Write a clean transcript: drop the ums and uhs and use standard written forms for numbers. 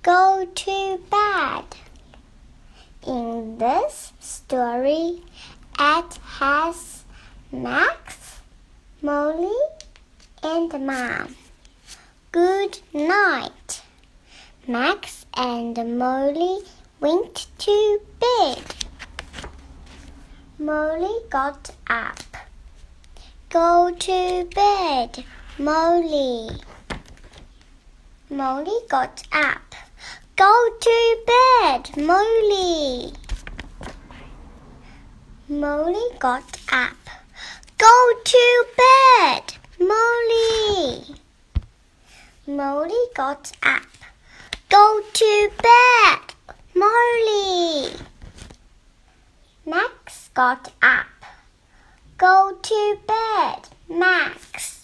go to bed. In this story, Ed has Max, Molly, and Mom. Good night. Max and Molly went to bed. Molly got up. Go to bed, Molly. Molly got up. Go to bed, Molly. Molly got up. Go to bed, Molly. Molly got up. Go to bed, Molly. Max got up. Go to bed, Max.